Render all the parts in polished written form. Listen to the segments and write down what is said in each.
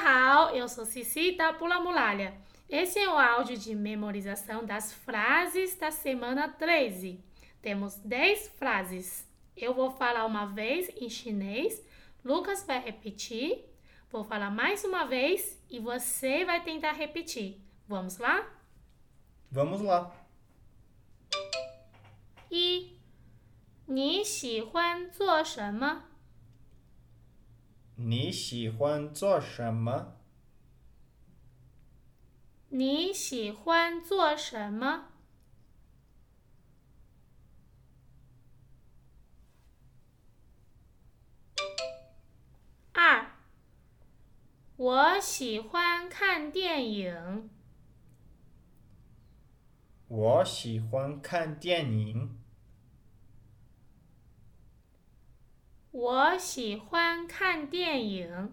好, eu sou Cici da Pula Muralha. Esse é o áudio de memorização das frases da semana 13. Temos 10 frases. Eu vou falar uma vez em chinês, Lucas vai repetir, vou falar mais uma vez e você vai tentar repetir. Vamos lá? Vamos lá. 一，你喜欢做什么？ 你喜欢做什么？ 你喜欢做什么？二，我喜欢看电影。 我喜欢看电影。 我喜欢看电影。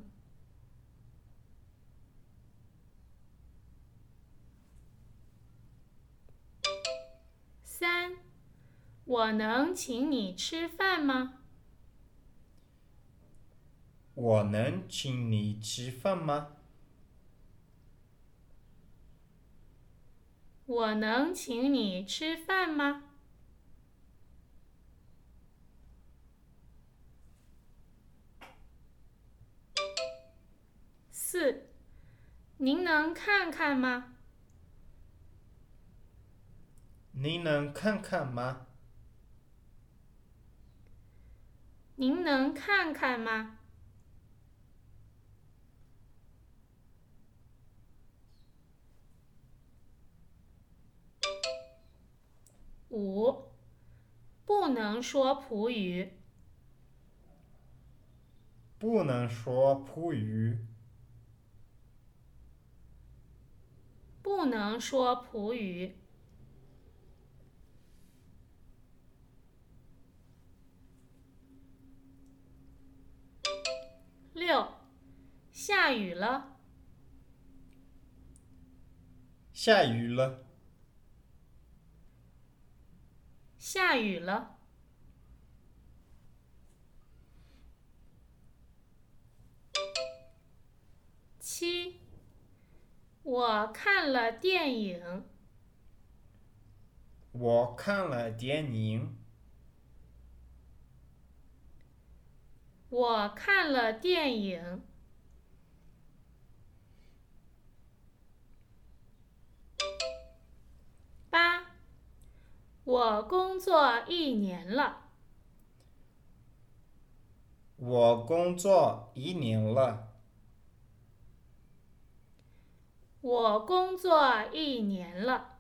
三，我能请你吃饭吗？ 我能请你吃饭吗？ 我能请你吃饭吗？四，您能看看吗？ 您能看看吗？ 您能看看吗？五，不能说葡语。 不能说葡语。 不能说葡语。六，下雨了。 下雨了。 下雨了。七，我看了电影。 我看了电影。 我看了电影。八，我工作1年了。 我工作1年了。 我工作1年了。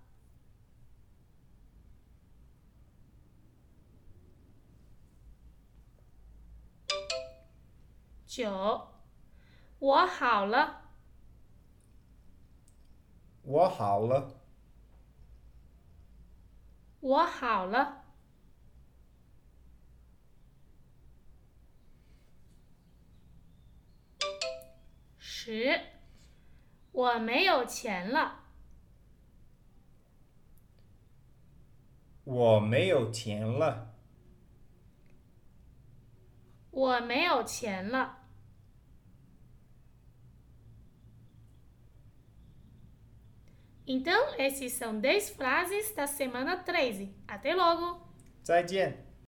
九，我好了。 我好了。 我好了。10，我没有钱了。 我没有钱了。 我没有钱了。Então, esses são 10 frases da semana 13. Até logo! 再见。